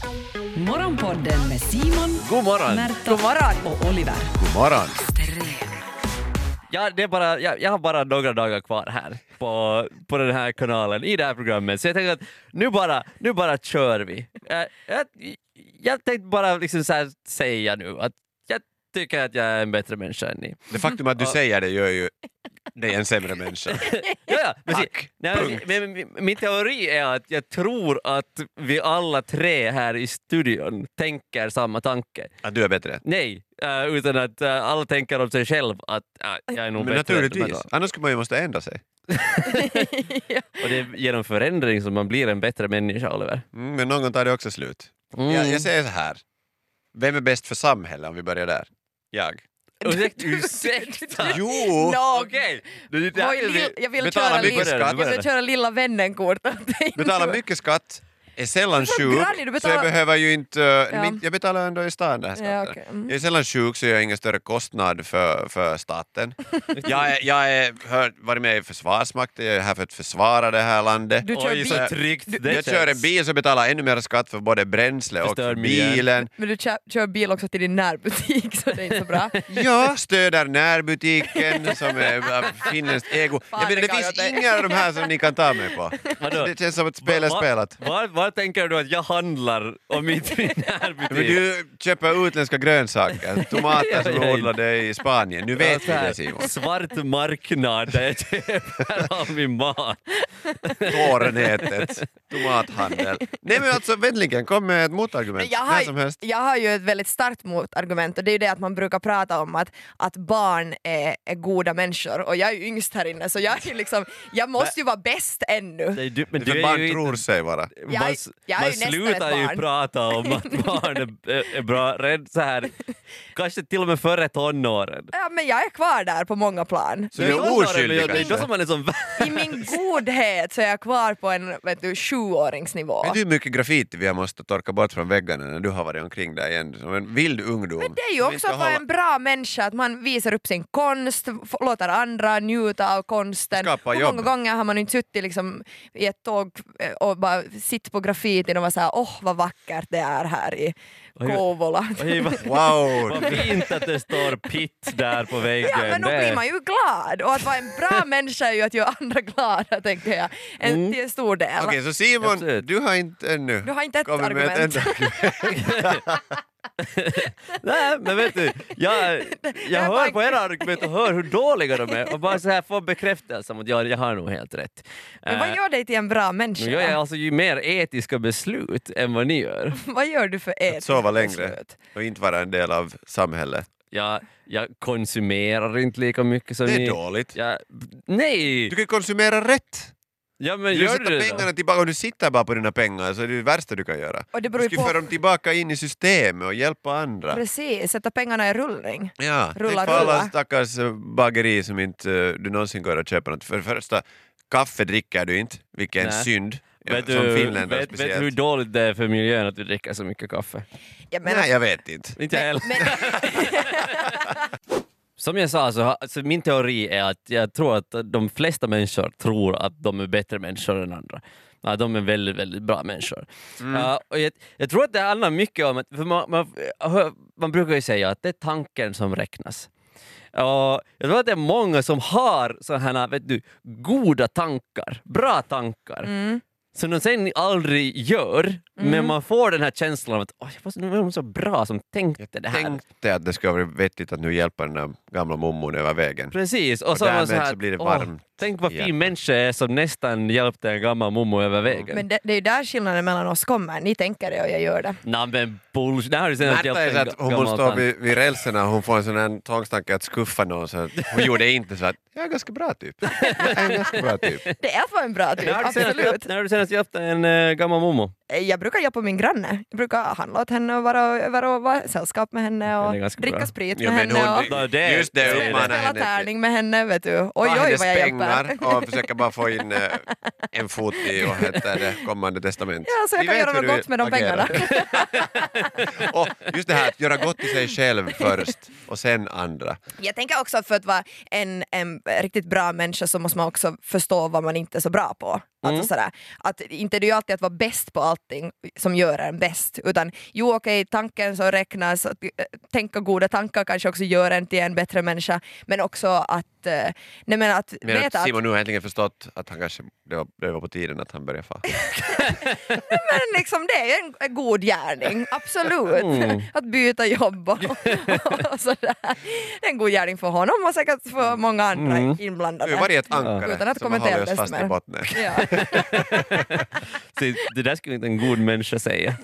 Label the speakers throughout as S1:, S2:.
S1: Morgonpodden med Simon,
S2: God morgon.
S1: Märta och Oliver.
S3: God morgon.
S2: Ja, det är bara, jag har bara några dagar kvar här på den här kanalen i det här programmet. Så jag tänker att nu bara kör vi. Jag tänkte bara liksom så här säga nu att jag tycker att jag är en bättre människa än ni.
S3: Det faktum att du säger det gör ju dig en sämre människa.
S2: Ja,
S3: Tack.
S2: men min teori är att jag tror att vi alla tre här i studion tänker samma tanke.
S3: Att du är bättre.
S2: Nej, utan att alla tänker om sig själv att jag är nog
S3: Men
S2: bättre.
S3: naturligtvis. Annars skulle man ju måste ändra sig.
S2: Och det är genom förändring som man blir en bättre människa, Oliver.
S3: Men någon gång tar det också slut. Jag säger så här. Vem är bäst för samhället om vi börjar där? Jag.
S2: Ursäkta!
S3: Jo!
S2: Okej.
S4: Jag vill
S3: Betala mycket skatt.
S4: Jag vill köra lilla vännen-kort.
S3: Betala mycket skatt. Är sällan
S4: Så
S3: sjuk,
S4: grannig, du
S3: så jag
S4: betalar-
S3: behöver ju inte...
S4: Ja.
S3: Jag betalar ändå i stan där skatten.
S4: Ja, okej. Mm.
S3: Jag är sällan sjuk så jag har ingen större kostnad för staten. Jag har varit med i Försvarsmakten, jag är här för att försvara det här landet.
S4: Du kör
S2: Oj,
S4: bil.
S2: så tryggt det
S3: Jag kör en bil som betalar ännu mer skatt för både bränsle och
S2: Förstör
S3: för
S2: miljön.
S3: bilen.
S4: Men du kör bil också till din närbutik, så det är inte så bra.
S3: Ja, stöder närbutiken som är finländskt ego.
S4: Fan,
S3: Jag menar,
S4: det
S3: det
S4: kan
S3: finns
S4: jag
S3: inga av de här som ni kan ta mig på.
S2: Vadå?
S3: Det känns som att spelet är spelat.
S2: Vad tänker du att jag handlar om i min
S3: Men
S2: närbutik?
S3: du köper utländska grönsaker, tomater som
S2: Ja.
S3: odlade i Spanien. Nu vet vi det, Simon.
S2: Svart marknad där jag köper all min mat.
S3: Tårnätet, tomathandel. Nej men alltså, vänligen, kom med ett motargument.
S4: Men
S3: När som helst.
S4: jag har ju ett väldigt starkt motargument, och det är ju det att man brukar prata om att barn är goda människor, och jag är ju yngst här inne, så jag är liksom, jag måste ju vara bäst ännu.
S2: Nej, men
S3: För
S2: du
S3: barn
S2: är ju
S3: tror sig vara.
S4: Jag är ju
S2: man
S4: nästan
S2: slutar
S4: ett
S2: ju
S4: barn.
S2: prata om att barn är bra redan så här, kanske till och med före tonåren.
S4: Ja, men jag är kvar där på många plan.
S3: Så du är oskyldig
S2: Det är då
S3: kanske.
S2: som man är som
S4: I min godhet så är jag kvar på en 7-åringsnivå.
S3: Vet du hur mycket graffiti vi har måste torka bort från väggarna när du har varit omkring där igen? Som en vild ungdom.
S4: Men det är ju också att vara en bra människa, att man visar upp sin konst, låter andra njuta av konsten.
S3: Skapa
S4: Hur
S3: jobb.
S4: många gånger har man inte suttit liksom i ett tåg och bara sitt på graffitin och var såhär, vad vackert det är här i Kouvola.
S2: Oj,
S3: Wow!
S2: vad fint att det står pitt där på väggen.
S4: Ja, men då
S2: Det-
S4: blir man ju glad, och att vara en bra människa är ju att göra andra glada, tänker jag. Till en stor del.
S3: Okej, så Simon,
S2: Absolut.
S3: du har inte ännu
S4: Du har inte ett
S3: kommit med
S4: argument.
S2: Nej, men vet du, jag hör på era argument och hör hur dåliga de är och bara så här får bekräftelse om att jag har nog helt rätt.
S4: Men vad gör dig till en bra människa?
S2: Nu gör jag alltså ju mer etiska beslut än vad ni gör.
S4: Vad gör du för
S3: att sova längre
S4: beslut?
S3: och inte vara en del av samhället.
S2: Jag konsumerar inte lika mycket som
S3: Det är
S2: ni.
S3: dåligt.
S2: Nej!
S3: Du kan konsumera rätt.
S2: Ja, men
S3: Du
S2: gör
S3: sätter
S2: du det
S3: pengarna
S2: då?
S3: tillbaka och du sitter bara på dina pengar, så det är det värsta du kan göra.
S4: Och det
S3: Du
S4: beror ju
S3: skulle
S4: på...
S3: föra dem tillbaka in i systemet och hjälpa andra.
S4: Precis, sätta pengarna i rullning.
S3: Ja,
S4: Rulla,
S3: tänk på alla
S4: rulla.
S3: stackars bageri som inte du någonsin går att köpa något. För det första, kaffe dricker du inte, vilken
S2: Nej.
S3: synd.
S2: Vet
S3: Som
S2: du
S3: finländare
S2: vet
S3: speciellt.
S2: hur dåligt det är för miljön att vi dricker så mycket kaffe?
S4: Jag menar,
S3: Nej, jag vet inte.
S2: Inte jag heller.
S4: men,
S2: Som jag sa, så min teori är att jag tror att de flesta människor tror att de är bättre människor än andra. Ja, de är väldigt, väldigt bra människor. Och jag tror att det handlar mycket om att för man brukar ju säga att det är tanken som räknas. Och jag tror att det är många som har sådana här, goda tankar, bra tankar. Som de sen aldrig gör, men man får den här känslan av att nu är de så bra som tänkte det här.
S3: Tänkte att det skulle vara vettigt att nu hjälpa den där gamla mommon över vägen.
S2: Precis, och
S3: Och
S2: så, var man
S3: därmed
S2: så, här,
S3: så blir det varmt.
S2: tänk vad fin
S3: igen.
S2: människa är som nästan hjälpte en gammal mommo över vägen.
S4: men det är ju där skillnaden mellan oss kommer. Ni tänker det och jag gör det.
S2: Nej men bullshit, det här har du senast
S3: Märta är så att hon måste stå vid rälserna och hon får en sån här tvångstanke att skuffa någon, så att hon gjorde inte så att jag är ganska bra typ. Jag är en ganska bra typ.
S4: Det är att vara en bra typ, absolut.
S2: När har du senast hjälpt en gammal mommo?
S4: Jag brukar hjälpa min granne. Jag brukar handla åt henne och vara i sällskap med henne
S2: Det är
S4: och
S2: ganska
S4: dricka
S2: bra.
S4: sprit
S3: Jo,
S4: med
S3: men
S4: henne.
S3: hon,
S4: Och
S3: just det
S2: det-
S3: uppmanar
S4: spela
S3: henne.
S4: tärning med henne, vet du. Oj,
S3: Ta
S4: oj,
S3: hennes
S4: vad jag hjälper.
S3: pengar och försöka bara få in en fot i och heter det kommande testament.
S4: Ja, så jag
S3: Vi
S4: kan
S3: vet
S4: göra
S3: hur
S4: något
S3: du
S4: gott med de
S3: agerar.
S4: pengarna.
S3: Och just det här att göra gott i sig själv först och sen andra.
S4: Jag tänker också att för att vara en riktigt bra människa så måste man också förstå vad man inte är så bra på. Alltså sådär, att inte det är ju alltid att vara bäst på allting som gör en bäst, utan tanken som räknas, att tänka goda tankar kanske också gör en till en bättre människa, men också att veta
S3: Simon nu har äntligen förstått att han kanske det var på tiden att han började
S4: men liksom det är en god gärning, absolut. Att byta jobb och sådär. Det är en god gärning för honom och säkert för många andra inblandade.
S3: Du var det ett ankare
S4: Utan att
S3: som har
S4: kommentera
S3: hållit oss
S4: desto
S3: fast
S4: mer.
S3: i botten.
S4: Ja.
S2: Så det där skulle inte en god människa säga.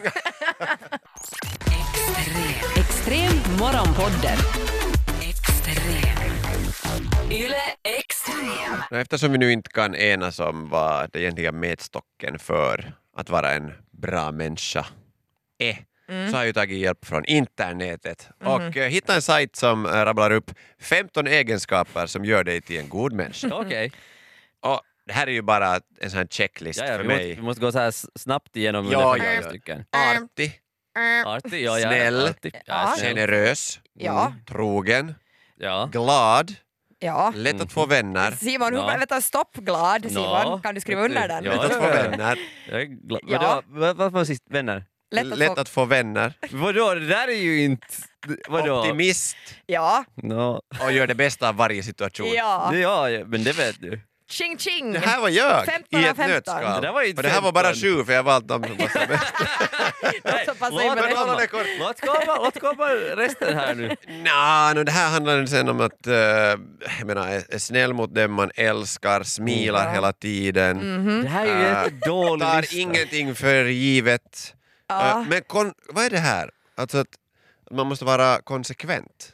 S1: Extrem morgonpodden. Extrem. Yle Extrem.
S3: Eftersom vi nu inte kan enas om vad det egentliga mätstocken för att vara en bra människa är, så har jag tagit hjälp från internetet och hittat en sajt som rabblar upp 15 egenskaper som gör dig till en god människa.
S2: Okej.
S3: Och det här är ju bara en sån här checklist för mig.
S2: Vi måste gå så här snabbt igenom
S3: Ja,
S2: ungefär
S3: ja.
S2: stycken.
S3: Artig,
S2: Artig, ja,
S3: Snäll.
S2: artig. Ja, snäll.
S3: generös,
S4: Ja.
S3: trogen,
S2: Ja.
S3: glad,
S4: Ja.
S3: lätt att få vänner.
S4: Simon,
S2: Ja.
S4: vänta, stopp glad Simon. Kan du skriva under den?
S2: Ja.
S3: Lätt att få vänner.
S2: Jag är glad.
S4: Ja.
S2: Vad var sist? Vänner?
S3: Lätt att få vänner.
S2: Vadå? Det där är ju inte... Vadå?
S3: Optimist
S4: Ja.
S2: No.
S3: och gör det bästa av varje situation.
S4: Ja.
S2: Ja, men det vet du.
S4: Ching ching.
S3: Det här var jag
S4: 15
S3: i
S4: av
S3: ett
S4: 15.
S3: nötskal.
S2: Det där var ju inte
S3: Och det här var bara
S2: 15.
S3: 7 för jag valt dem som passade bäst.
S4: Så passar in med det.
S3: Hålla det kort.
S2: Låt komma resten här nu.
S3: Det här handlar sen om att jag menar, är snäll mot dem man älskar, smilar hela tiden,
S2: Det här är ju jättedålig
S3: tar
S2: lista.
S3: ingenting för givet.
S4: Ja.
S3: Men vad är det här? Alltså att man måste vara konsekvent.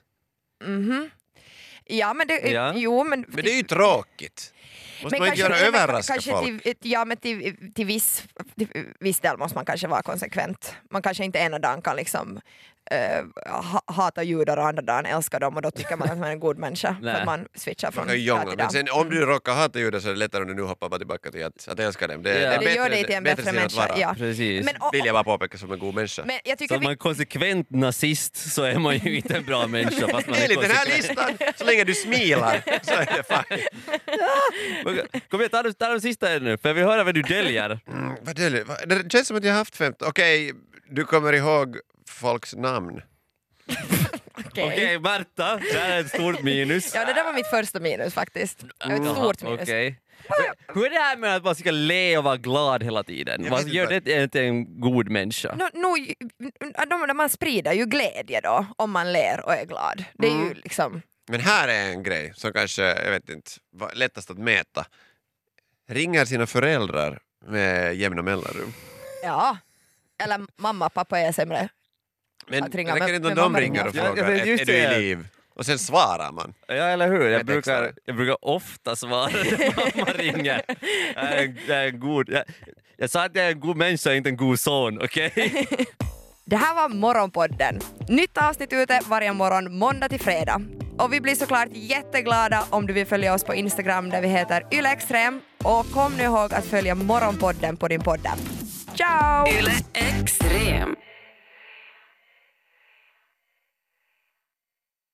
S4: Ja, men det,
S2: Ja.
S4: jo, men
S3: Men det är ju tråkigt. Måste man inte göra överraska
S4: kanske
S3: folk?
S4: till viss del måste man kanske vara konsekvent. Man kanske inte ena dagen kan liksom hata judar och andra dagen älskar dem och då tycker man att man är en god människa för
S2: Nej.
S4: att man switchar från
S3: Man kan jonga,
S4: dag till
S3: men
S4: dag.
S3: sen om du råkar hata judar så är det lättare om du nu hoppar bara tillbaka till att älska dem. Det
S2: Ja.
S3: är
S4: Det gör
S3: bättre-
S4: dig till en
S3: bättre
S4: bättre
S3: sätt att
S4: människa.
S3: vara.
S4: Ja.
S2: Precis.
S4: Men,
S3: Vill jag bara påpeka som en god människa.
S4: men jag
S2: Så
S4: tycker
S2: om man är konsekvent nazist så är man ju inte en bra människa fast man är
S3: Enligt den här
S2: konsekvent.
S3: listan, så länge du smilar så är det fine.
S2: Kom igen, ta de sista nu, för jag vill höra vad du däljer.
S3: Det känns som att jag har haft 15. Okej, du kommer ihåg folks namn.
S2: Okej, Marta, det här är ett stort minus.
S4: Ja, det där var mitt första minus faktiskt. Ett stort minus.
S2: Okej. Hur är det här med att man ska le och vara glad hela tiden?
S3: Jag
S2: Vad
S3: vet
S2: gör
S3: inte.
S2: det till en god människa?
S4: Man sprider ju glädje då om man ler och är glad. Det är ju liksom...
S3: Men här är en grej som kanske, jag vet inte, var lättast att mäta. Ringer sina föräldrar med jämna mellanrum.
S4: Ja. Eller mamma, pappa är sämre.
S3: Men
S4: Att ringa
S3: räcker
S4: med-
S3: inte om
S4: med
S3: de
S4: mamma
S3: ringer och
S2: ringer. Ja,
S3: frågar,
S2: jag vet just
S3: är du
S2: det.
S3: i liv? Och sen svarar man.
S2: Ja, eller hur?
S3: Ett extra.
S2: Jag brukar ofta svara när mamma ringer. Jag är en god... Jag sa att jag är en god människa, inte en god son, okej?
S4: Det här var Morgonpodden. Nytt avsnitt ute varje morgon måndag till fredag. Och vi blir såklart jätteglada om du vill följa oss på Instagram där vi heter ylextrem. Och kom nu ihåg att följa Morgonpodden på din poddapp. Ciao!
S1: Yle Extrem.